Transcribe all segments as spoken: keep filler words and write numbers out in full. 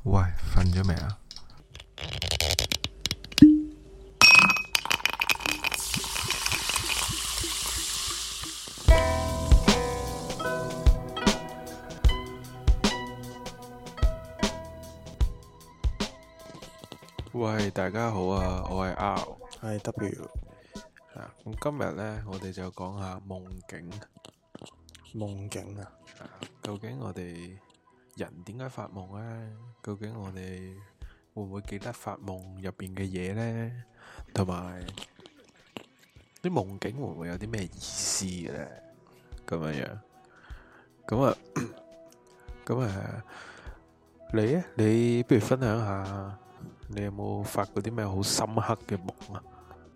喂，瞓咗未啊？喂，大家好啊，我係 R， 係 W。 啊，咁今日呢，我哋就講下夢境。 夢境啊， 啊，究竟我哋人點解發夢呢？究竟我哋會唔會記得發夢入邊嘅嘢呢？同埋啲夢境會唔會有啲咩意思嘅呢？咁樣樣，咁啊，咁啊，你咧，你不如分享下，你有冇發過啲咩好深刻嘅夢啊？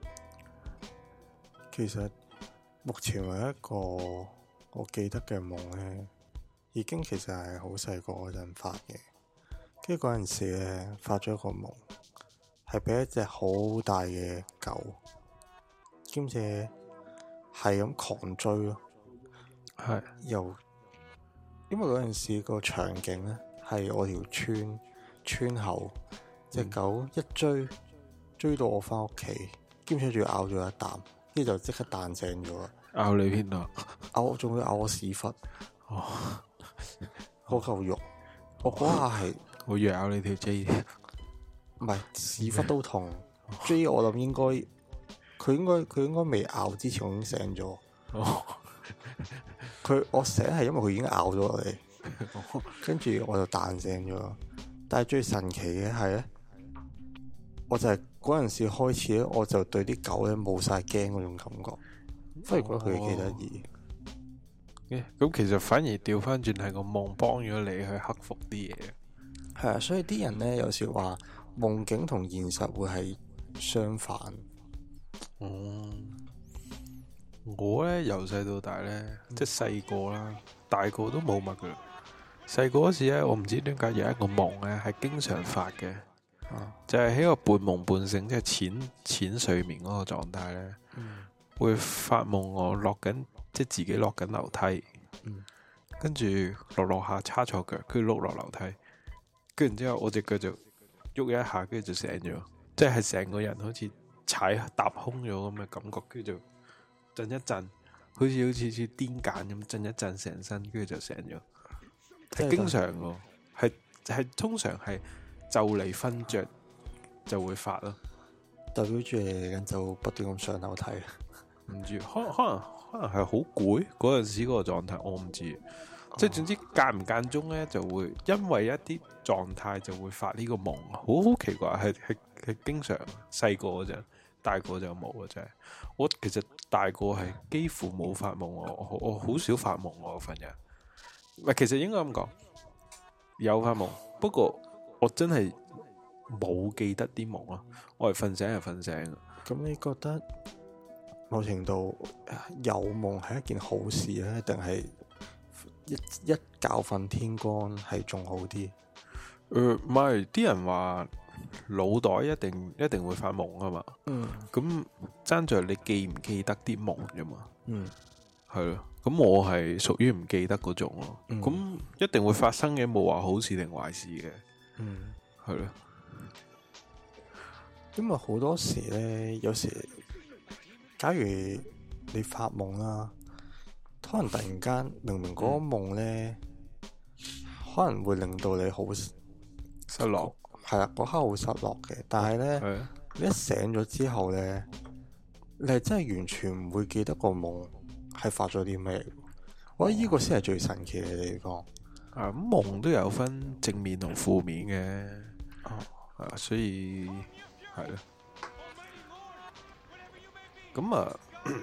其實目前為一個我記得嘅夢呢，已經其實係好細個嗰陣發嘅。跟住嗰陣時咧，發咗一個夢，係俾一隻好大嘅狗，兼且係咁狂追咯。 係又因為嗰陣時個場景呢，係我條村村口，隻狗一追追到我翻屋企，兼且仲要咬咗一啖，跟住就即刻彈醒咗啦。 咬你邊度？ 咬，仲要咬我屎忽。 哦， 嗰嚿肉，我嗰下係我以為咬你條 J， 唔係屎忽都痛。J 我諗應該佢應該佢應該未咬之前我已經醒咗。 哦， 佢我醒係因為佢已經咬咗我哋，跟住我就彈醒咗。但係最神奇嘅係咧，我就係嗰陣時開始咧，我就對啲狗咧冇晒驚嗰種感覺，反而覺得佢哋幾得意。 咁其實反而調翻轉係個夢幫咗你去克服啲嘢。 係啊，所以啲人咧有時話夢境同現實會係相反。 嗯，我咧由細到大咧，即係細個啦，大個都冇乜噶啦。細個嗰時咧，我唔知點解有一個夢咧係經常發嘅， 啊、 就係喺個半夢半醒，即係淺淺睡眠嗰個狀態咧， 嗯、 會發夢我落緊。即係自己落緊樓梯， 嗯、 跟住落落下叉錯腳，跟住碌落樓梯，跟住之後我隻腳就喐一下，跟住就醒咗，即係成個人好似踩踏空咗咁嘅感覺，跟住就震一震，好似好似似癲癇咁震一震成身，跟住就醒咗。係經常嘅，係係通常係就嚟瞓着就會發咯， 代表住你嚟緊就不斷咁上樓梯。 唔知可可能可能係好攰嗰陣時嗰個狀態，我唔知。哦、即係總之間唔間中咧，就會因為一啲狀態就會發呢個夢，好好奇怪，係係係經常細個嗰陣，大個就冇啊！真係我其實大個係幾乎冇發夢，我我好少發夢我份人。唔係，其實應該咁講，有發夢，不過我真係冇記得啲夢咯。我係瞓醒係瞓醒。 咁你覺得？某程度有夢係一件好事咧，定係一一覺瞓天光係仲好啲？ 誒，唔係，啲人話腦袋一定一定會發夢啊嘛。嗯。咁爭在你記唔記得啲夢啫嘛。嗯。係咯。咁我係屬於唔記得嗰種咯。嗯。咁一定會發生嘅，冇話好事定壞事嘅。嗯。係咯。 因為好多時咧，有時。假如你發夢啦，可能突然間明明嗰個夢咧，嗯、可能會令到你好失落， 係啦，嗰刻好失落嘅。但係咧，的你一醒咗之後咧，你係真係完全唔會記得個夢係發咗啲咩。我覺得呢個先係最神奇嘅地方。 啊，咁夢都有分正面同負面嘅，啊、哦，所以係咯。咁啊，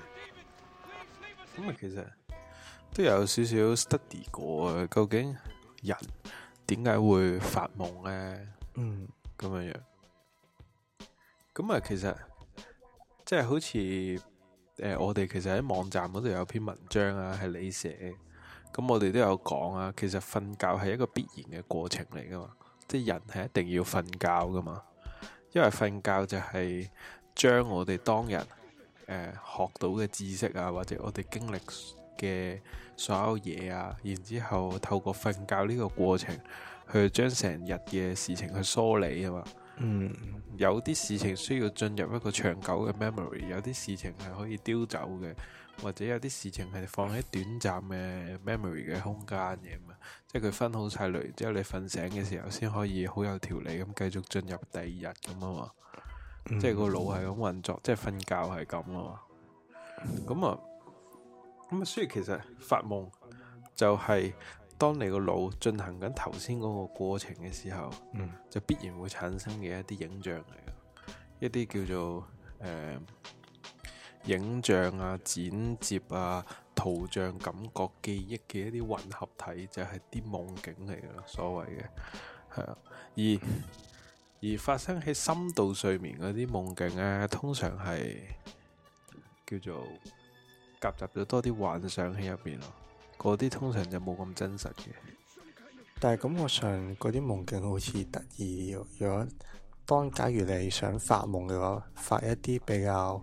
咁啊，其實都有少少 study 過啊。究竟人點解會發夢咧？嗯，咁樣樣。咁啊，其實即係好似誒、呃，我哋其實喺網站嗰度有篇文章啊，係你寫。咁我哋都有講啊，其實瞓覺係一個必然嘅過程嚟噶嘛。即係人係一定要瞓覺噶嘛，因為瞓覺就係將我哋當日。誒、呃，學到嘅知識啊，或者我哋經歷嘅所有嘢啊，然之後透過瞓覺呢個過程去將成日嘅事情去梳理啊嘛。 嗯， 有啲事情需要進入一個長久嘅 memory， 有啲事情係可以丟走嘅，或者有啲事情係放喺短暫嘅 memory 嘅空間嘅嘛。即係佢分好晒類之後，你瞓醒嘅時候先可以好有條理咁繼續進入第二日咁啊嘛。嗯、即係個腦係咁運作，即係瞓覺係咁啊嘛。咁啊，咁啊，所以其實發夢就係當你個腦進行緊頭先嗰個過程嘅時候，嗯、就必然會產生嘅一啲影像嚟嘅，一啲叫做誒、呃、影像啊、剪接啊、圖像、感覺、記憶嘅一啲混合體，就係啲夢境嚟嘅咯，所謂嘅係啊。而而發生喺深度睡眠嗰啲夢境咧，通常係叫做夾雜咗多啲幻想喺入邊咯。嗰啲通常就冇咁真實嘅， 但係感覺上嗰啲夢境好似得意。如果當假如你想發夢嘅話，發一啲比較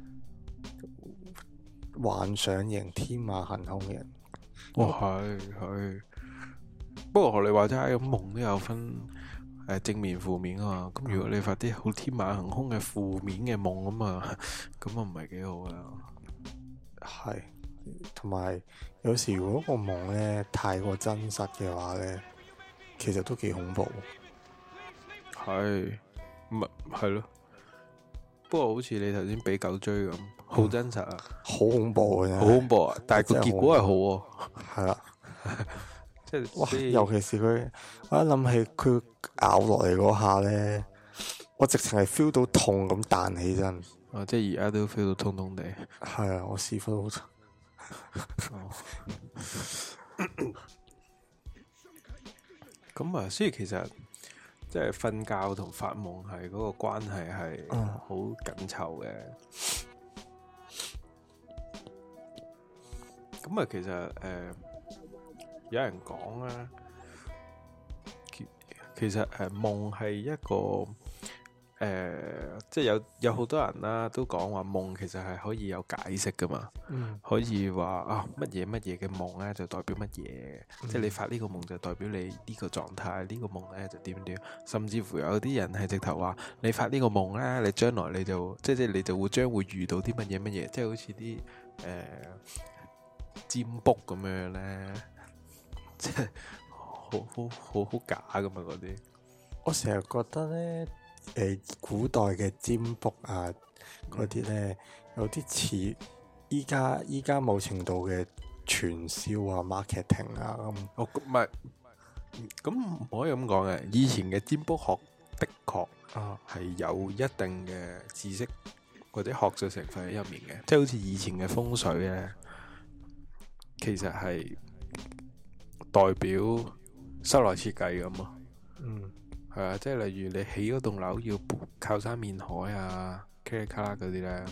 幻想型、天馬行空嘅。 哦，係係。不過學你話齋，咁夢都有分誒正面、負面啊嘛。咁如果你發啲好天馬行空嘅負面嘅夢咁啊，咁啊唔係幾好啊。 係。同埋有，有時如果個夢咧太過真實嘅話咧，其實都幾恐怖。 係，唔係係咯。不過好似你頭先俾狗追咁，好、嗯、真實啊， 好恐怖嘅，好恐怖啊！但係個結果係好喎。係啦， 即係哇！尤其是佢，我一諗起佢咬落嚟嗰下咧，我直情係 feel 到痛咁彈起身。 啊！即係而家都 feel 到痛痛地。 係啊，我屎忽好痛。 咁啊，所以其實即係瞓覺同發夢係嗰個關係係好緊湊嘅。咁啊、嗯，其實誒、呃，有人講咧，其其實誒夢係一個。誒、呃，即係有有好多人啦，都講話夢其實係可以有解釋噶嘛，嗯、可以話啊乜嘢乜嘢嘅夢咧就代表乜嘢，嗯、即係你發呢個夢就代表你呢個狀態，呢、呢個夢咧就點點，甚至乎有啲人係直頭話你發呢個夢咧，你將來你就即係即係你就會將會遇到啲乜嘢乜嘢，即係好似啲誒占卜咁樣咧，即係好好好好假噶嘛嗰啲。 我成日覺得咧。誒、呃，古代嘅占卜啊，嗰啲咧有啲似依家依家某程度嘅傳銷啊、marketing 啊咁。 哦，唔係，咁唔可以咁講嘅。以前嘅占卜學的確啊係有一定嘅知識或者學術成分喺入面嘅，即係好似以前嘅風水咧，其實係代表室內設計咁啊。嗯。係啊，即係例如你起嗰棟樓要靠山面海啊，卡里卡啦嗰啲咧，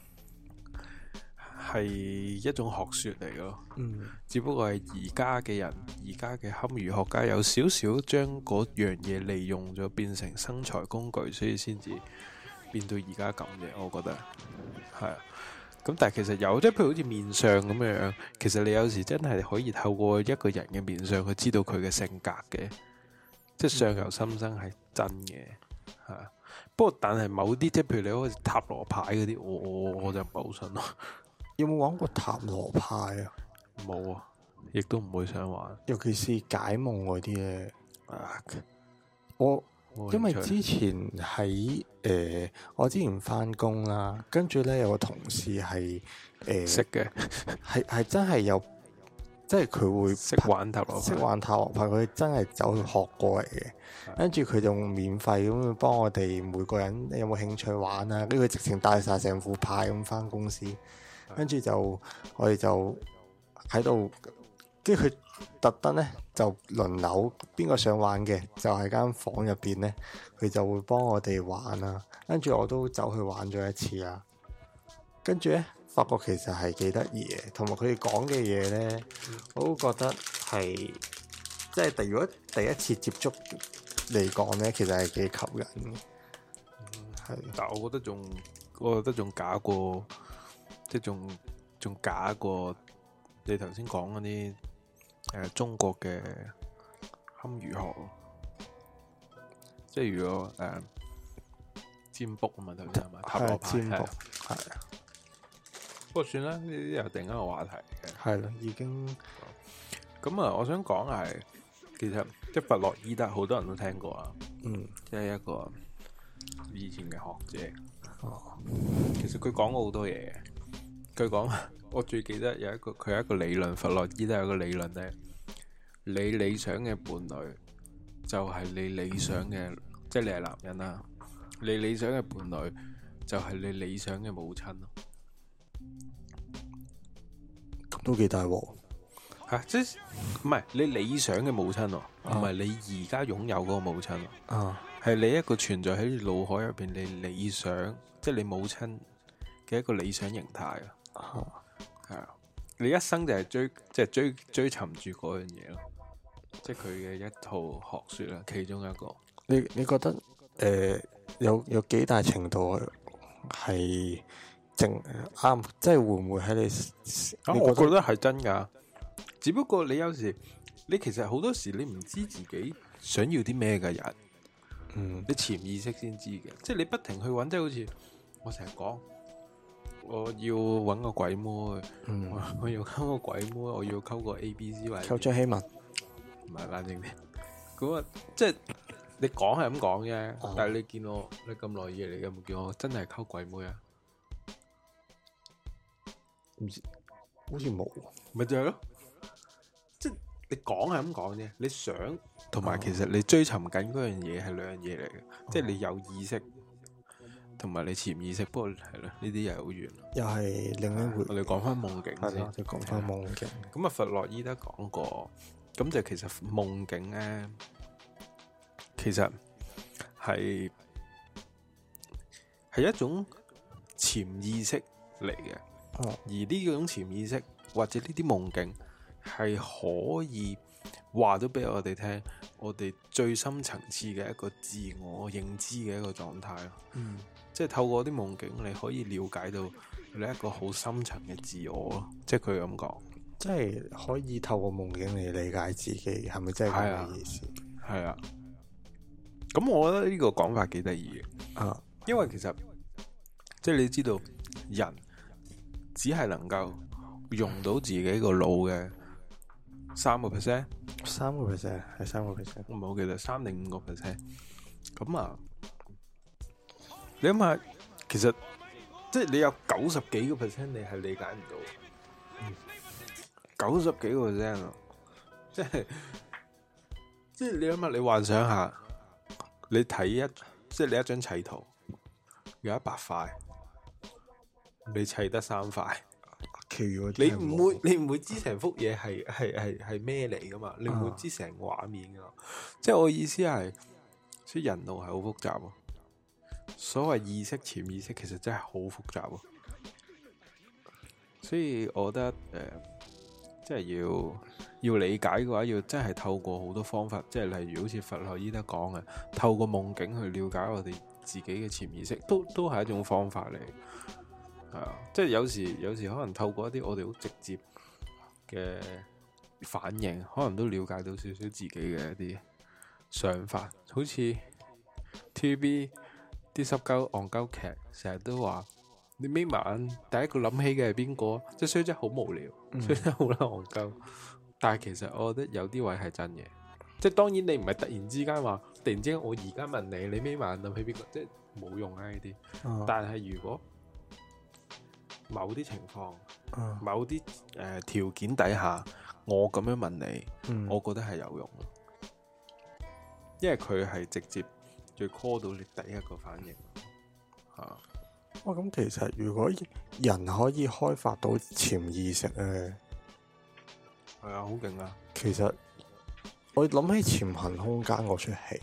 係一種學說嚟咯。嗯，只不過係而家嘅人，而家嘅堪輿學家有少少將嗰樣嘢利用咗，變成生財工具，所以先至變到而家咁嘅。我覺得係啊。咁但係其實有，即係譬如好似面相咁樣，其實你有時真係可以透過一個人嘅面相去知道佢嘅性格嘅。即係相由心生係真嘅，係啊。不過但係某啲即係譬如你好似塔羅牌嗰啲，我我我就唔係好信咯。 有冇玩過塔羅牌啊？ 冇啊，亦都唔會想玩。 尤其是解夢嗰啲咧，啊，我因為之前喺誒、呃，我之前翻工啦，跟住咧有個同事係誒識嘅， 係係真係有。即係佢會識玩塔羅牌， 識玩塔羅牌，佢真係走去學過嚟嘅。跟住佢就免費咁幫我哋每個人，你有冇興趣玩啊？跟住佢直情帶晒成副牌咁翻公司，跟住就我哋就喺度，跟住佢特登咧就輪流邊個想玩嘅，就喺間房入邊咧，佢就會幫我哋玩啊。跟住我都走去玩咗一次啊。跟住咧。發覺其實係幾得意嘅，同埋佢哋講嘅嘢咧，我都覺得係即係第如果第一次接觸嚟講咧，其實係幾吸引嘅。係、嗯， 但係我覺得仲，我覺得仲假過，即係仲仲假過你頭先講嗰啲誒中國嘅堪輿學。 即係如果誒、呃、占卜啊嘛，頭先係咪？塔羅牌占卜係。 不過算啦，呢啲又另一個話題嘅。 係咯，已經咁啊！我想講係，其實即係弗洛伊德，好多人都聽過啊。 嗯， 即係一個以前嘅學者。 哦， 其實佢講過好多嘢嘅。佢講，我最記得有一個，佢有一個理論，弗洛伊德有一個理論咧，你理想嘅伴侶就係你理想嘅，即係你係男人啦，你理想嘅伴侶就係你理想嘅母親咯。 都幾大鑊吓，即係唔係你理想嘅母親喎，唔係你而家擁有嗰個母親喎， 啊， 係你一個存在喺腦海入邊，你理想，即係你母親嘅一個理想形態啊，係啊，你一生就係追，即係追追尋住嗰樣嘢咯，即係佢嘅一套學說啦，其中一個。 你你覺得誒、呃、有有幾大程度係？正啱，即係會唔會喺你？ 啊，我覺得係真噶。只不過你有時，你其實好多時你唔知自己想要啲咩嘅人，嗯，你潛意識先知嘅。即係你不停去揾，即係好似我成日講，我要揾個鬼妹，嗯，我，我要溝個鬼妹，我要溝個 A B C 或者溝張希文， 唔係冷靜啲。咁啊，即係你講係咁講啫，哦、但係你見我你咁耐嘢，你有冇見我真係溝鬼妹啊？ 唔知，好似冇， 咪就係咯，即係你講係咁講啫。你想同埋其實你追尋緊嗰樣嘢係兩樣嘢嚟嘅，哦、即係你有意識同埋你潛意識。不過係咯，呢啲又係好遠，又係另一回。 我哋講翻夢境先， 我哋講翻夢境。 咁啊，弗洛伊德講過，咁就其實夢境咧，其實係係一種潛意識嚟嘅。哦、而呢種潛意識或者呢啲夢境係可以話到俾我哋聽，我哋最深層次嘅一個自我認知嘅一個狀態咯。嗯，即係透過啲夢境，你可以了解到你一個好深層嘅自我咯。即係佢咁講， 即係可以透過夢境嚟理解自己，係咪真係咁嘅意思？ 係啊。咁我覺得呢個講法幾得意嘅。啊，因為其實即係你知道人。只係能夠用到自己個腦嘅三個 percent， 三個 percent 係三個 percent， 我唔係好記得三定五個 percent。咁啊，你諗下，其實即係你有九十幾個 percent，你係理解唔到。九十幾個 percent 啊，即係即係你諗下，你幻想下，你睇一即係你一張砌圖，有一百塊。你砌得三塊，你唔會你唔會知成幅嘢係係係係咩嚟噶嘛？你唔會知成個畫面噶嘛？啊、即係我意思係，所以人腦係好複雜喎。所謂意識、潛意識，其實真係好複雜喎。所以我覺得誒、呃，即係要要理解嘅話，要真係透過好多方法，即係例如好似弗洛伊德講嘅，透過夢境去了解我哋自己嘅潛意識，都都係一種方法嚟。係啊，即係有時有時可能透過一啲我哋好直接嘅反應，可能都了解到少少自己嘅一啲想法。好似 T V B 啲濕鳩戇鳩劇，成日都話你眯埋眼，第一個諗起嘅係邊個？即係雖則好無聊，雖則好啦戇鳩，但係其實我覺得有啲位係真嘅。即係當然你唔係突然之間話，突然之間我而家問你，你眯埋眼諗起邊個？即係冇用啊呢啲。嗯、但係如果某啲情況，嗯、某啲誒條件底下，我咁樣問你，嗯、我覺得係有用，因為佢係直接最 call 到你第一個反應嚇。 哇！咁其實如果人可以開發到潛意識咧， 係啊，好勁啊！ 其實我諗起潛行空間嗰出戲，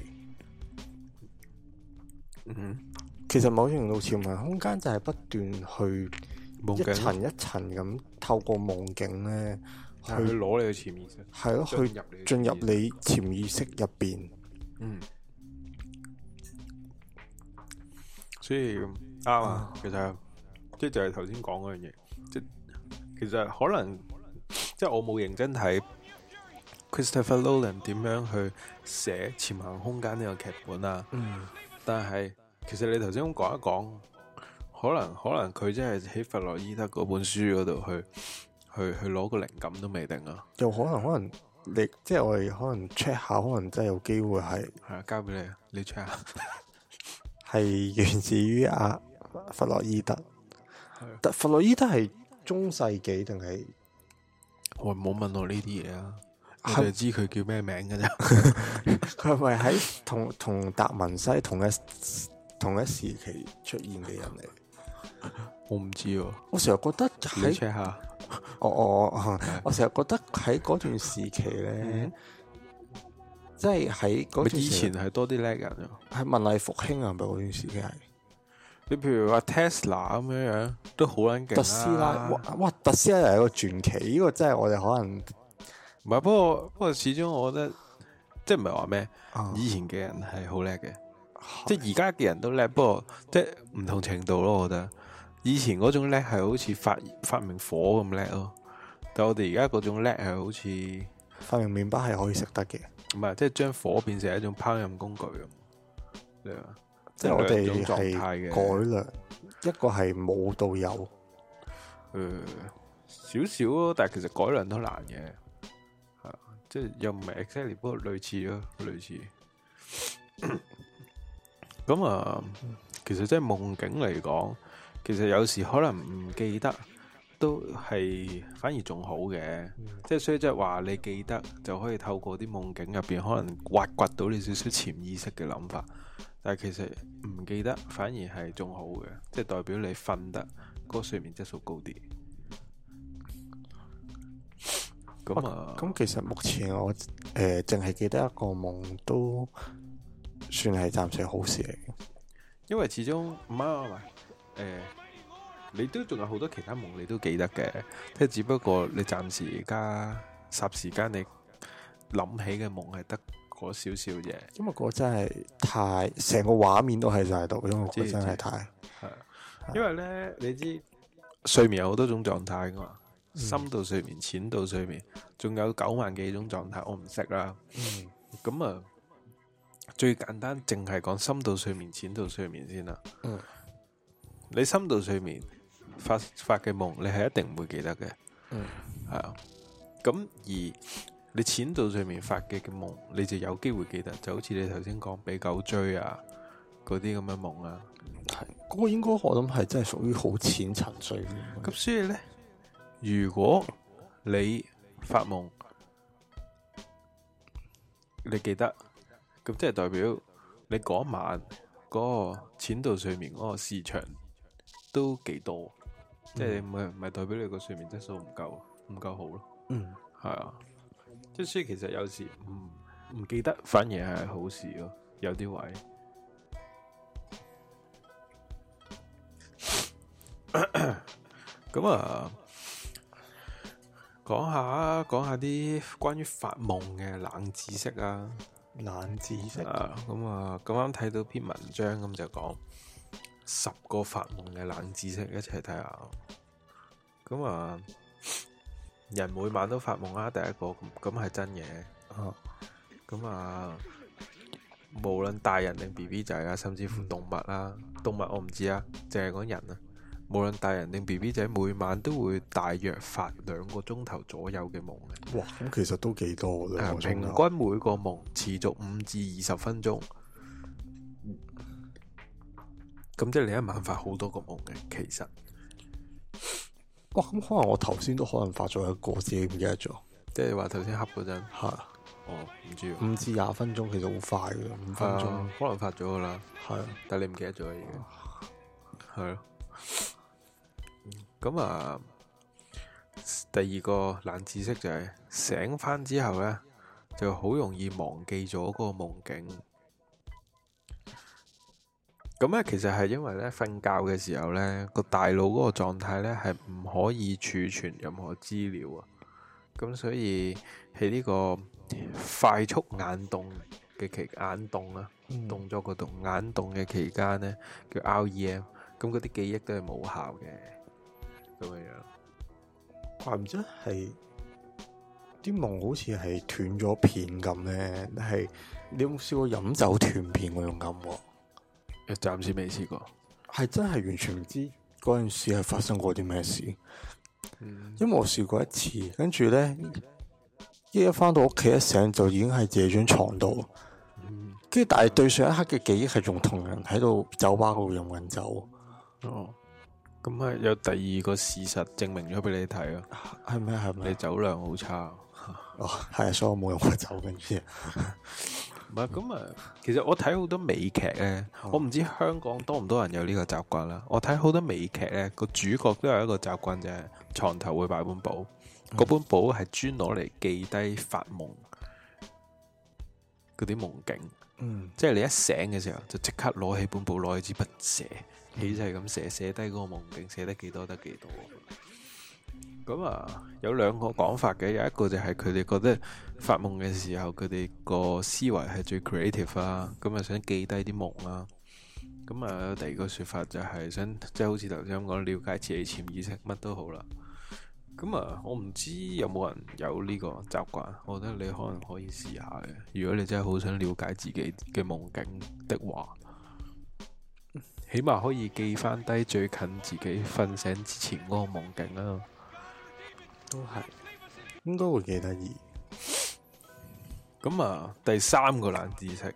嗯哼，其實某程度潛行空間就係不斷去。一層一層咁透過夢境咧，去攞你嘅潛意識， 係咯，去進入你潛意識入邊。 嗯，所以啱啊。其實即係就係頭先講嗰樣嘢，即係其實可能即係我冇認真睇 Christopher Nolan 點樣去寫潛行空間呢個劇本啊。嗯。但係其實你頭先咁講一講，可能可能佢真係喺弗洛伊德嗰本書嗰度去去去攞個靈感都未定啊。 又可能可能你即係我哋可能 check 下，可能真係有機會係係啊，交俾你，你 check 下。係源自於阿弗洛伊德。但弗洛伊德係中世紀定係？ 我冇問我呢啲嘢啊，我就知佢叫咩名㗎咋。 佢係咪喺同同達文西同一同一時期出現嘅人嚟？ 我唔知喎。 我成日覺得你 check 下。 我我我成日覺得喺嗰段時期咧，即係喺嗰段時期以前係多啲叻人啊。 係文藝復興啊，係咪嗰段時期係？ 你譬如話 Tesla 咁樣樣，都好撚勁啦。特斯拉， 哇哇！特斯拉又係一個傳奇，呢、這個真係我哋可能唔係。不過不過始終我覺得，即係唔係話咩？以前嘅人係好叻嘅，即係而家嘅人都叻，不過即係唔同程度咯。我覺得以前嗰種叻係好似發發明火咁叻咯，但係我哋而家嗰種叻係好似發明麵包係可以食得嘅， 唔係即係將火變成一種烹飪工具咁。你話？ 即係我哋係改良，一個係冇到有， 誒少少咯，但係其實改良都難嘅，係即係又唔係 exactly，不過類似咯，類似。咁啊，其實即係夢境嚟講，其實有時可能唔記得都係反而仲好嘅，嗯、即係所以即係話你記得就可以透過啲夢境入邊可能挖掘到你少少潛意識嘅諗法。但係其實唔記得反而係仲好嘅，即係代表你瞓得嗰個睡眠質素高啲。咁啊，咁、 啊、其實目前我誒淨係記得一個夢都算係暫時好事嚟嘅， 因為始終唔係唔係誒，你都仲有好多其他夢你都記得嘅，即係只不過你暫時而家霎時間你諗起嘅夢係得嗰少少嘢， 因為嗰真係太成個畫面都喺晒度，因為嗰真係太係。因為咧，你知睡眠有好多種狀態噶嘛，嗯、深度睡眠、淺度睡眠，仲有九萬幾種狀態，我唔識啦。咁、嗯、啊，最簡單淨係講深度睡眠、淺度睡眠先啦。嗯，你深度睡眠發發嘅夢，你係一定唔會記得嘅。嗯，係啊。咁而你淺度睡眠發嘅嘅夢，你就有機會記得，就好似你頭先講俾狗追啊，嗰啲咁嘅夢啊， 係嗰、嗰個應該我諗係真係屬於好淺層睡眠。 咁所以呢，如果你發夢，你記得，咁即係代表你嗰晚嗰個淺度睡眠嗰個時長都幾多，嗯、即係唔係唔係代表你個睡眠質素唔夠唔夠好咯？嗯，係啊。即係所以其實有時唔唔記得反而係好事咯，有啲位。咁啊，講下講下啲關於發夢嘅冷知識啊， 冷知識啊，咁啊咁啱睇到篇文章，咁就講十個發夢嘅冷知識，一齊睇下。咁啊。人每晚都發夢啦，第一個咁咁係真嘅。咁啊，無論大人定 B B 仔啊，甚至乎動物啦，嗯、動物我唔知啊，淨係講人啊。無論大人定 B B 仔，每晚都會大約發兩個鐘頭左右嘅夢嘅。 哇，咁其實都幾多啦。 平均每個夢持續五至二十分鐘。咁即係你一晚發好多個夢嘅，其實。 哇，咁可能我頭先都可能發咗一個，自己唔記得咗。 即係話頭先黑嗰陣， 係， 哦，唔知五至廿分鐘其實好快嘅，五分鐘、 啊、可能發咗噶啦， 係， 但係你唔記得咗已經，係咯。咁啊，第二個冷知識就係、是、醒翻之後咧，就好容易忘記咗嗰個夢境。咁咧，其實係因為咧瞓覺嘅時候咧，個大腦嗰個狀態咧係唔可以儲存任何資料啊。咁所以喺呢個快速眼動嘅期眼動啊，嗯、動作嗰度眼動嘅期間咧叫 R E M，咁嗰啲記憶都係冇效嘅。咁樣樣， 怪唔知係啲夢好似係斷咗片咁咧，係你有冇試過飲酒斷片嗰種感覺？ 暫時未試過， 係真係完全唔知嗰陣時係發生過啲咩事。嗯、因為我試過一次，跟住咧一一翻到屋企一醒就已經係自己張床度，跟住、嗯、但係對上一刻嘅記憶係仲同人喺度酒吧嗰度飲緊酒。 哦，咁係有第二個事實證明咗俾你睇咯， 係咩？係咩？ 你酒量好差。 哦，係啊，所以我冇飲過酒，跟住唔係咁啊。其實我睇好多美劇咧，哦、我唔知香港多唔多人有呢個習慣啦。我睇好多美劇咧，個主角都有一個習慣，就係床頭會擺本簿，嗰、嗯、本簿係專攞嚟記低發夢嗰啲夢境。嗯，即係你一醒嘅時候，就即刻攞起本簿，攞起支筆寫，起勢咁寫，寫低嗰個夢境，寫得幾多得幾多。咁啊，有兩個講法嘅，有一個就係佢哋覺得發夢嘅時候，佢哋個思維係最 creative 啊，咁啊想記低啲夢啦。咁啊，有第二個說法就係想，即係好似頭先咁講，了解自己潛意識，乜都好啦。咁啊，我唔知有冇人有呢個習慣，我覺得你可能可以試下嘅。如果你真係好想了解自己嘅夢境的話，起碼可以記翻低最近自己瞓醒之前嗰個夢境啦。 都係，應該會幾得意。 咁啊，第三個冷知識，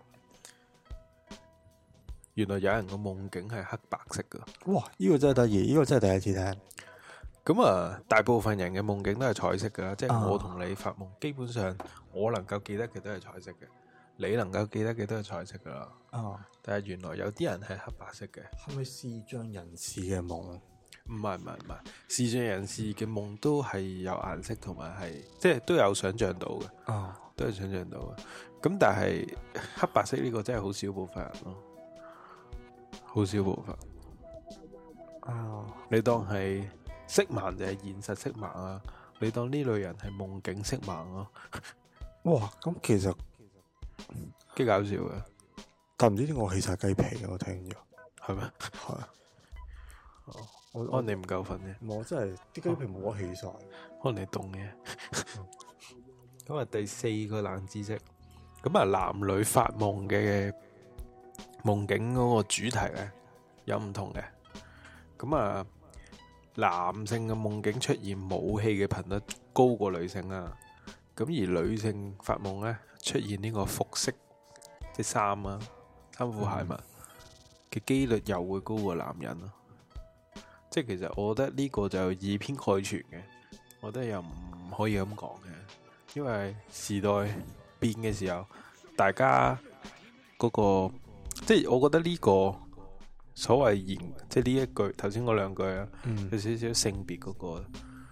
原來有人個夢境係黑白色噶。 哇，呢個真係得意，呢個真係第一次聽。 咁啊，大部分人嘅夢境都係彩色噶，即係我同你發夢，基本上我能夠記得嘅都係彩色嘅，你能夠記得嘅都係彩色噶啦。哦，但係原來有啲人係黑白色嘅。 係咪視障人士嘅夢？ 唔係唔係唔係，視障人士嘅夢都係有顏色同埋係，即係都有想象到嘅，哦，都係想象到嘅。咁但係黑白色呢個真係好少部分人咯，好少部分。哦，你當係色盲就係現實色盲啊？你當呢類人係夢境色盲咯？ 哇，咁其實幾搞笑嘅， 但唔知點解我起晒雞皮，我聽咗係咩？係啊，哦。可能你唔夠瞓啫， 我真係啲雞皮冇得起晒， 可能你凍嘅。咁啊，第四個冷知識，咁啊，男女發夢嘅夢境嗰個主題咧有唔同嘅。咁啊，男性嘅夢境出現武器嘅頻率高過女性啦。咁而女性發夢咧出現呢個服飾，即係衫啊、衫褲鞋襪嘅幾率又會高過男人咯。即係其實我覺得呢個就以偏概全嘅，我覺得又唔可以咁講嘅，因為時代變嘅時候，大家嗰個即係我覺得呢個所謂言，即係呢一句頭先嗰兩句啊，嗯、有少少性別嗰個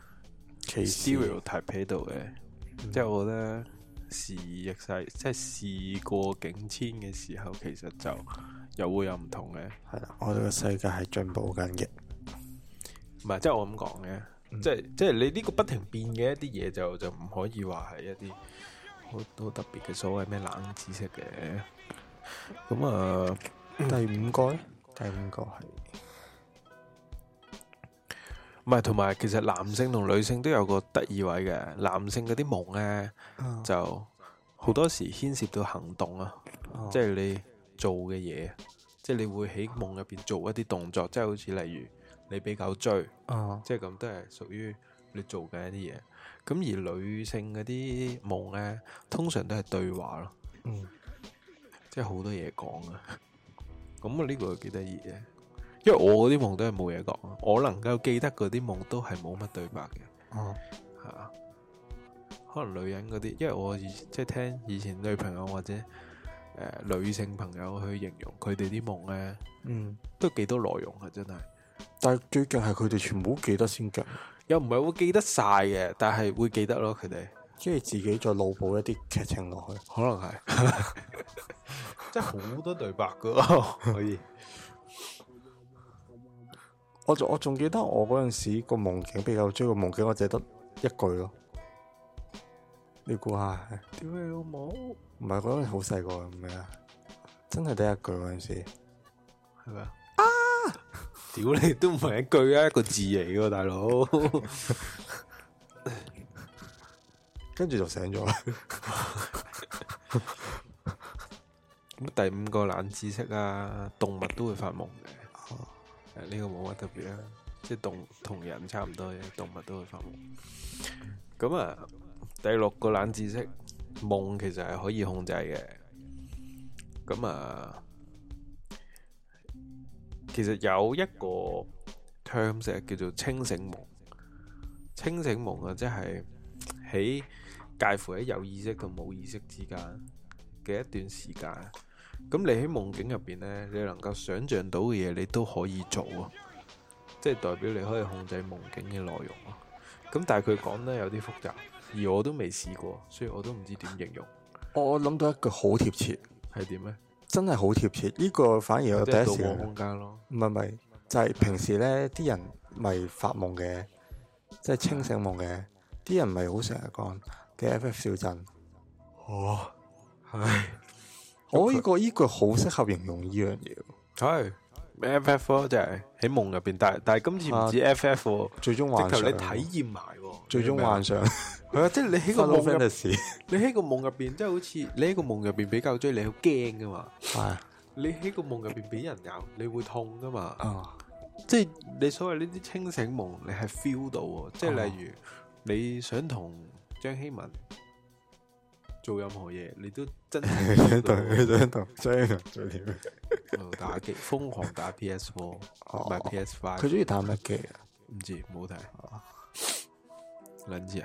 stereotype 喺度嘅，嗯、即係我覺得時易世，即係事過境遷嘅時候，其實就又會有唔同嘅。 係啦，我哋個世界係進步緊嘅。 唔係，即係我咁講嘅，即係即係你呢個不停變嘅一啲嘢，就就唔可以話係一啲好好特別嘅所謂咩冷知識嘅。咁啊，第五個咧，第五個係唔係？同埋其實男性同女性都有個得意位嘅。男性嗰啲夢咧，嗯、就好多時牽涉到行動啊，嗯、即係你做嘅嘢，即係你會喺夢入邊做一啲動作，即係好似例如。你比較追，哦、即係咁都係屬於你做嘅一啲嘢。咁而女性嗰啲夢咧，通常都係對話咯，嗯，即係好多嘢講啊。咁啊呢個幾得意嘅，因為我嗰啲夢都係冇嘢講，我能夠記得嗰啲夢都係冇乜對白嘅。哦，係啊，可能女人嗰啲，因為我以即係聽以前女朋友或者誒、呃、女性朋友去形容佢哋啲夢咧，嗯，都幾多內容啊，真係。 但係最近係佢哋全部都記得先嘅， 又唔係會記得晒嘅，但係會記得咯。佢哋即係自己再腦補一啲劇情落去， 可能係，即係好多對白噶，可以。 我仲我仲記得我嗰陣時個夢境比較追個夢境，我淨係得一句咯。你估下？ 屌你老母！ 唔係嗰陣好細個唔係啊，真係得一句嗰陣時， 係咪啊？屌你都唔係一句啊，一個字嚟噶大佬。 跟住就醒咗啦。 咁第五個冷知識啊，動物都會發夢嘅。哦，誒呢個冇乜特別啊，即係動同人差唔多嘅，動物都會發夢。咁啊，第六個冷知識，夢其實係可以控制嘅。咁啊，其實有一個 terms 叫做清醒夢。清醒夢啊，即係喺介乎喺有意識同冇意識之間嘅一段時間。咁你喺夢境入邊呢，你能夠想象到嘅嘢，你都可以做啊，即係代表你可以控制夢境嘅內容啊。咁但係佢講得有啲複雜，而我都未試過，所以我都唔知點形容。 我諗到一句好貼切， 係點呢？真係好貼切。呢、這個反而我第一時間空間咯。 唔係唔係，就係、是、平時呢啲人咪發夢嘅，即係清醒夢嘅。啲人咪好成日講嘅 F F 小鎮。 哦，係。 我呢、這個呢句好適合形容呢樣嘢， 係 F F 就係喺夢入邊，但係但係今次唔止 F F，、啊、 最終幻想， 直頭你體驗埋， 最終幻想係啊，即係你喺個夢入邊，你喺個夢入邊，即係好似你喺個夢入邊俾狗追，你好驚噶嘛？係你喺個夢入邊俾人咬，你會痛噶嘛？啊，即係你所謂呢啲清醒夢，你係 feel 到，即係例如你想同張希文做任何嘢，你都真係想同想同張希文做啲咩？打機，瘋狂打 P S 四，唔係 P S 五。 佢中意打乜機啊？ 唔知，冇睇。撚知啊？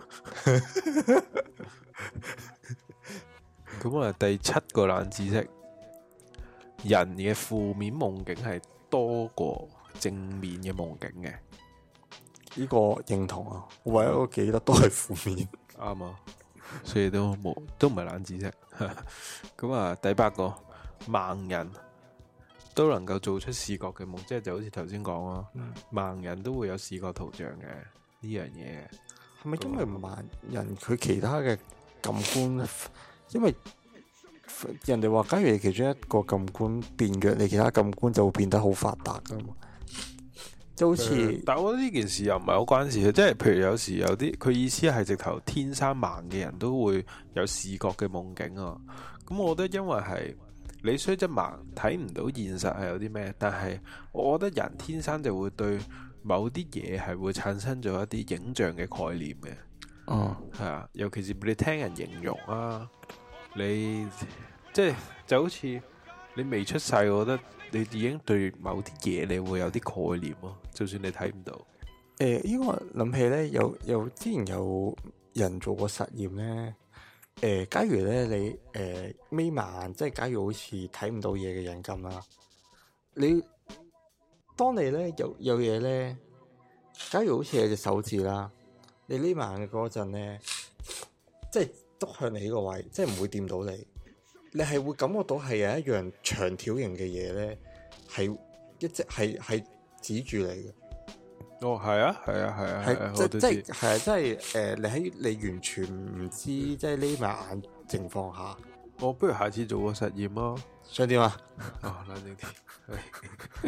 咁啊，第七個冷知識，人嘅負面夢境係多過正面嘅夢境嘅。 呢個認同啊！我唯一我記得都係負面。 啱啊！所以都冇，都唔係冷知識。咁啊，第八個，盲人都能夠做出視覺嘅夢，即係就好似頭先講咯，嗯、盲人都會有視覺圖像嘅呢樣嘢。 係咪因為盲人佢其他嘅感官，因為人哋話，假如你其中一個感官變弱，你其他感官就會變得好發達噶嘛？就好似、呃， 但係我覺得呢件事又唔係好關事嘅，即係譬如有時有啲佢意思係直頭天生盲嘅人都會有視覺嘅夢境啊。咁我覺得因為係你雖則盲睇唔到現實係有啲咩，但係我覺得人天生就會對某啲嘢係會產生咗一啲影像嘅概念嘅。哦，係啊，尤其是你聽人形容啊，你即係就好似你未出世，我覺得。你已經對某啲嘢你會有啲概念咯，就算你睇唔到。誒、 呃，依個諗起咧，有有之前有人做過實驗咧。誒、呃，假如咧你誒眯埋眼，即係假如好似睇唔到嘢嘅人咁啦。你當你咧有有嘢咧，假如好似有隻手指啦，你眯埋眼嗰陣咧，即係篤向你呢個位，即係唔會掂到你。你係會感覺到係有一樣長條形嘅嘢咧，係一直係係指住你嘅。 哦，係啊，係啊，係啊，係即即係啊，即係誒，你喺你完全唔知，即係匿埋眼情況下， 我不如下次做個實驗咯。 想點啊？ 哦，冷靜啲。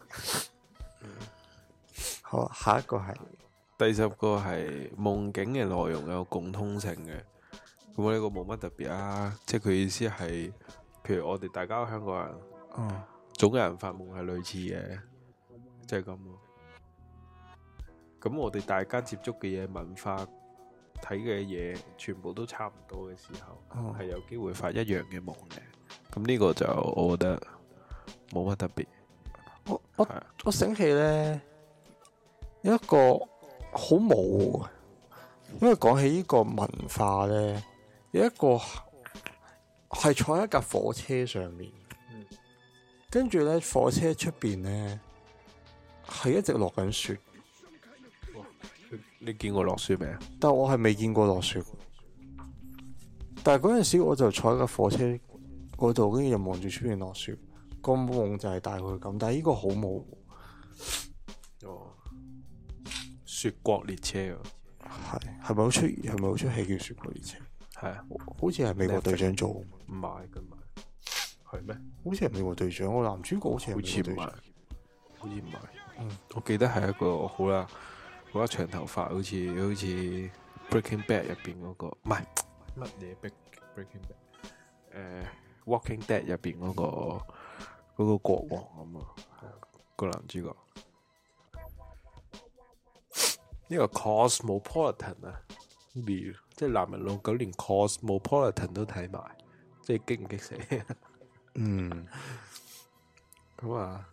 好，下一個係第十個係夢境嘅內容有共通性嘅。咁我呢個冇乜特別啊，即係佢意思係，譬如我哋大家香港人，哦，總有人發夢係類似嘅，即係咁咯。咁我哋大家接觸嘅嘢、文化睇嘅嘢，全部都差唔多嘅時候，係、哦、有機會發一樣嘅夢嘅。咁呢個就我覺得冇乜特別。 我我我醒起咧，有一個好模糊，因為講起呢個文化咧。有一個係坐喺一架火車上面，跟住咧火車出邊咧係一直落緊雪。 你見過落雪未啊？ 但係我係未見過落雪。但係嗰陣時我就坐喺架火車嗰度，跟住又望住出邊落雪。個夢就係大概咁，但係呢個好模糊。 哦，雪國列車啊， 係係咪好出？係咪好出戲叫雪國列車？係啊，好似係美國隊長做，唔係咁咪係咩？ 好似係美國隊長，我男主角好似係美國隊長， 好似唔係。嗯，我記得係一個好啦，好啦長頭髮，好似好似 Breaking Bad 入邊嗰個，唔係乜嘢 Breaking Bad，誒、呃、Walking Dead 入邊嗰個嗰、嗰個國王咁啊，個男主角。呢個 Cosmopolitan 啊，即係男人老狗連 Cosmopolitan 都睇埋，即係激唔激死？嗯，咁啊，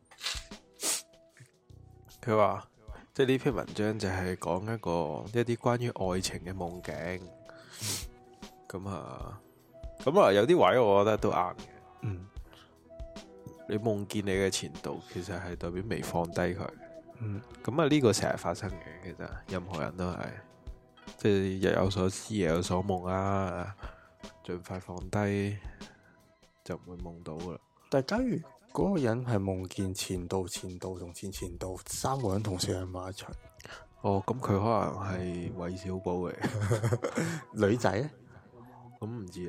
佢話即係呢篇文章就係講一個一啲關於愛情嘅夢境。咁、嗯、啊，咁啊有啲位我覺得都啱嘅。嗯，你夢見你嘅前度，其實係代表未放低佢。嗯，咁啊呢個成日發生嘅，其實任何人都係，即係日有所思夜有所夢啊，盡快放低就唔會夢到噶啦。 但係假如嗰個人係夢見前度、前度同前前度三個人同時喺埋一齊， 哦，咁佢可能係韋小寶嚟， 女仔咧， 咁唔知啊。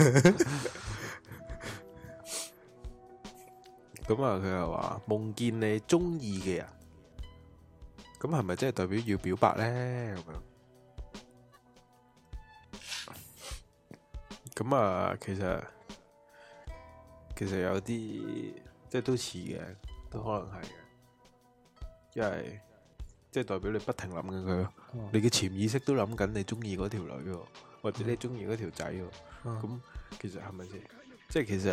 咁啊，佢又話夢見你中意嘅人。咁係咪即係代表要表白咧？咁樣，咁啊，其實其實有啲即係都似嘅，都可能係嘅，因為即係代表你不停諗緊佢，嗯、你嘅潛意識都諗緊你中意嗰條女，或者你中意嗰條仔，咁、嗯、其實係咪先？即係其實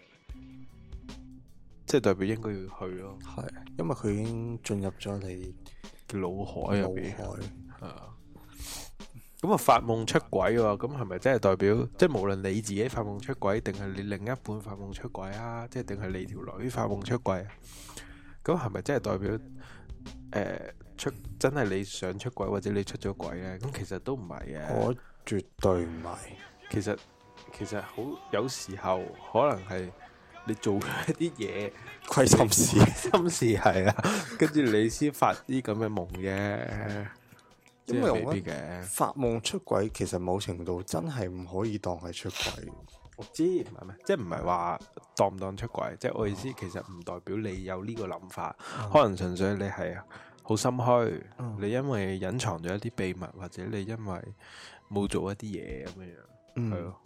即係代表應該要去咯， 係，因為佢已經進入咗你腦海入邊，啊，咁啊發夢出軌喎，咁係咪真係代表，即係無論你自己發夢出軌，定係你另一半發夢出軌啊，即係定係你條女發夢出軌啊？咁係咪真係代表，誒、呃、出真係你想出軌或者你出咗軌咧？咁其實都唔係嘅， 我絕對唔係。 其實其實好有時候可能係。你做咗一啲嘢， 虧心事， 心事係啊，跟住你先發啲咁嘅夢嘅， 因為我覺得發夢出軌其實某程度真係唔可以當係出軌。 我知唔係咩，即係唔係話當唔當出軌，即係我意思，其實唔代表你有呢個諗法，嗯、可能純粹你係好心虛，嗯、你因為隱藏咗一啲秘密，或者你因為冇做一啲嘢咁樣樣，係、嗯、咯。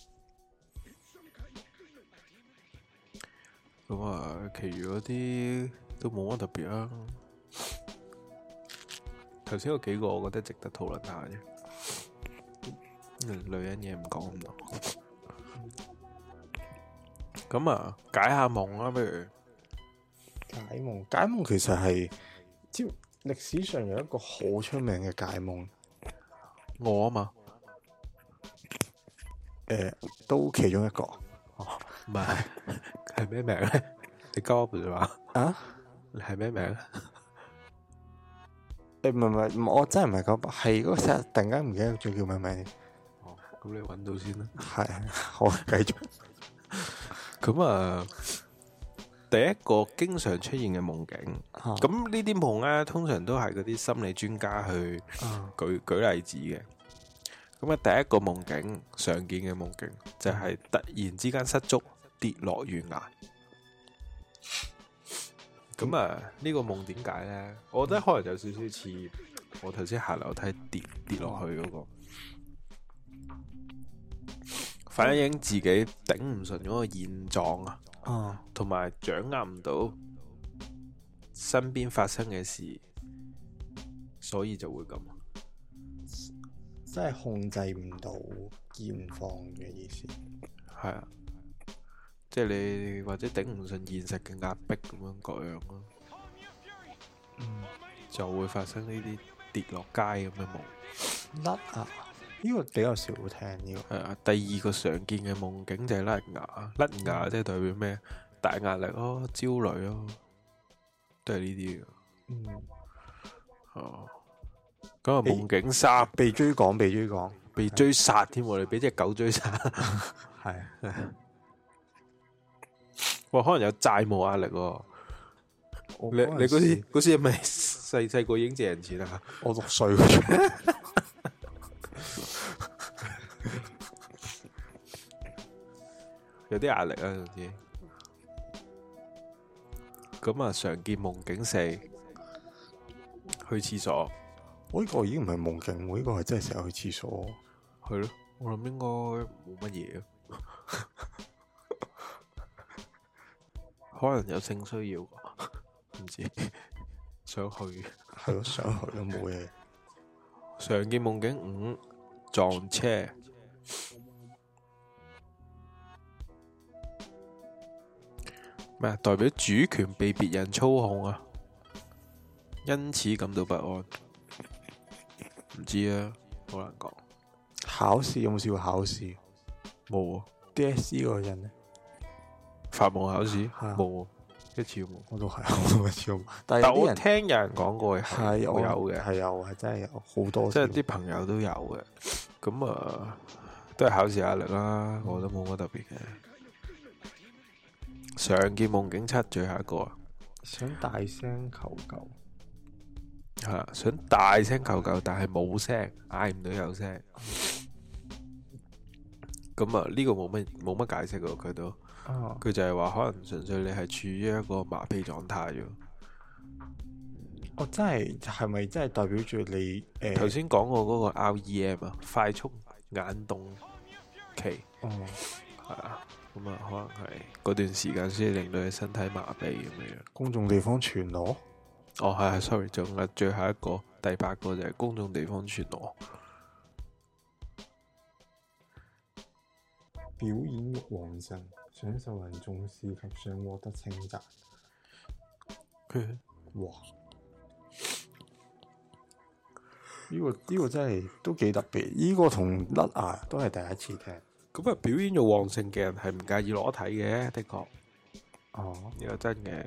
咁啊，其餘嗰啲都冇乜特別啦。頭先嗰幾個，我覺得值得討論下啫。女人嘢唔講咁多。咁啊，解下夢啦，不如解夢。解夢其實係，即歷史上有一個好出名嘅解夢。 我啊嘛， 誒、呃，都其中一個。 哦，唔係。係咩名咧？你交唔係嘛？啊？你係咩名咧？ 誒，唔係唔係，我真係唔係講，係嗰個成日突然間唔記得仲叫咩名。 哦，咁你搵到先啦。 係，好，繼續。 咁啊，第一個經常出現嘅夢境，咁、啊、呢啲夢咧，通常都係嗰啲心理專家去舉、啊、舉例子嘅。咁啊，第一個夢境常見嘅夢境就係、是、突然之間失足。跌落懸崖，咁啊呢個夢點解咧？我覺得可能有少少似我頭先下樓梯跌跌落去嗰個，反映自己頂唔順嗰個現狀啊，同埋掌握唔到身邊發生嘅事，所以就會咁， 即係控制唔到現況嘅意思， 係啊。即係你或者頂唔順現實嘅壓迫咁樣各樣咯，嗯，就會發生呢啲跌落街咁嘅夢。 甩牙呢個比較少聽呢個。係啊，第二個常見嘅夢境就係甩牙，甩牙即係代表咩？大壓力咯，焦慮咯，都係呢啲嘅。嗯，哦，咁啊，夢境三被追趕，被追趕， 被追殺添，我哋俾隻狗追殺，係。哇，可能有債務壓力喎。你你嗰時嗰時係咪細細個已經借人錢啊？ 我六歲嗰陣， 有啲壓力啊，總之。咁啊，常見夢境四，去廁所， 我呢個已經唔係夢境，我呢個係真係成日去廁所。 係咯，我諗應該冇乜嘢，可能有性需要，唔知想去。 係咯，想去都冇嘢。 常見夢境五，撞車。咩？代表主權被別人操控啊，因此感到不安。唔知啊，好難講。 考試有冇試過考試？ 冇啊。 D S C 嗰個人呢？ 發夢考試冇啊，一次都冇。 我都係，我都一次都冇。但係我聽有人講過係我有嘅， 係有，係真係有好多。 即係啲朋友都有嘅。咁啊，都係考試壓力啦，我覺得冇乜特別嘅。常見夢境七，最後一個啊， 想大聲求救。 係啊，想大聲求救，但係冇聲，嗌唔到有聲。咁啊，呢個冇乜冇乜解釋嘅，佢都，佢就係話可能純粹你係處於一個麻痹狀態啫。 哦，真係係咪真係代表住你誒？ 頭先講過嗰個 R E M 啊，快速眼動期。哦，係啊。咁啊，可能係嗰段時間先令到你身體麻痹咁樣。 公眾地方全裸？ 哦，係係，sorry，仲有最後一個，第八個就係公眾地方全裸。 表演欲旺盛，想受人重視及想獲得稱讚。哇！呢、這個呢、這個真係都幾特別。呢、這個同甩牙都係第一次聽。 咁啊，表演欲旺盛嘅人係唔介意裸體嘅，的確。 哦， 呢個真嘅。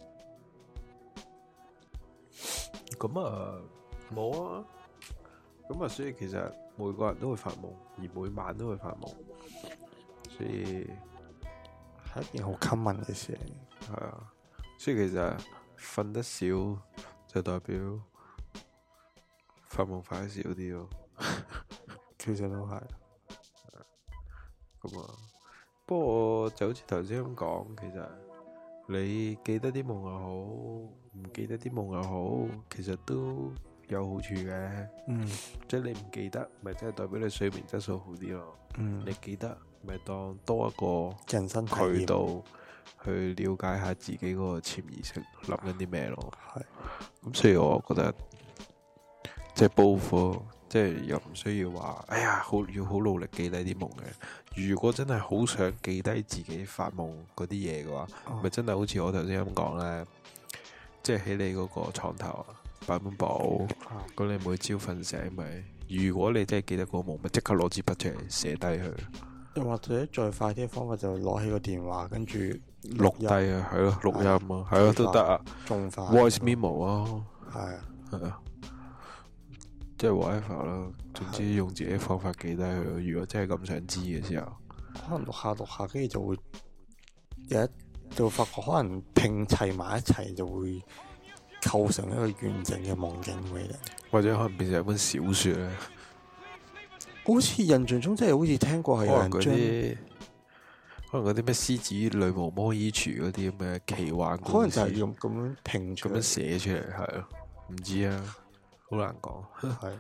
咁啊，冇啊。咁啊，所以其實每個人都會發夢，而每晚都會發夢，所以係一件好 common 嘅事。 係啊，所以其實瞓得少就代表發夢快少啲咯。 其實都係。 咁啊，不過就好似頭先咁講，其實你記得啲夢又好，唔記得啲夢又好，其實都有好處嘅。嗯，即係你唔記得，咪即係代表你睡眠質素好啲咯。嗯，你記得，咪當多一個人生渠道去了解下自己嗰個潛意識諗緊啲咩咯。係，咁所以我覺得即係報復。即係又唔需要話，哎呀，好要好努力記低啲夢嘅。如果真係好想記低自己發夢嗰啲嘢嘅話，咪、哦、真係好似我頭先咁講咧，即係喺你嗰個床頭啊擺本簿，咁、哦、你每朝瞓醒咪，如果你真係記得個夢，咪即刻攞支筆出嚟寫低佢。 又或者再快啲嘅方法就攞起個電話，跟住錄低啊，係咯，錄音啊，係咯都得啊， 仲快 voice memo 啊， 係啊，係啊。 即係 whatever 啦，總之用自己方法記低佢。如果真係咁想知嘅時候， 可能錄下錄下，跟住就會有一就會發覺，可能拼砌埋一齊就會構成一個完整嘅夢境俾你，或者可能變成一本小說咧。好似印象中真係好似聽過係有人將可能嗰啲咩獅子女巫魔衣櫥嗰啲咁嘅奇幻故事， 可能就係用咁樣拼咁樣寫出嚟，係咯，唔知啊。好難講，係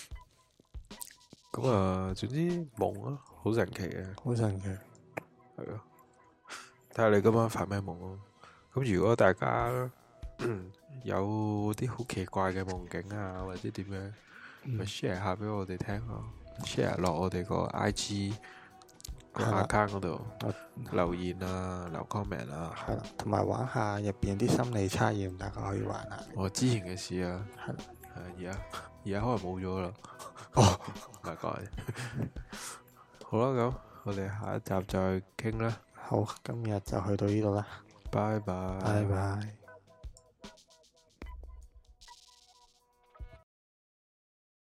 咁啊！總之夢啊，好神奇嘅， 好神奇， 係咯。睇下你今晚發咩夢咯。咁如果大家有啲好奇怪嘅夢境啊，或者點樣，咪 share 下俾我哋聽咯。share 落我哋個 I G 個 account 嗰度留言啊，留 comment 啊， 係啦，同埋玩下入邊啲心理測驗，大家可以玩下。 我之前嘅事啊，係啦。而家而家可能冇咗啦， 哦， 唔係講，好啦，咁我哋下一集再傾啦。 好，今日就去到呢度啦， 拜拜， 拜拜。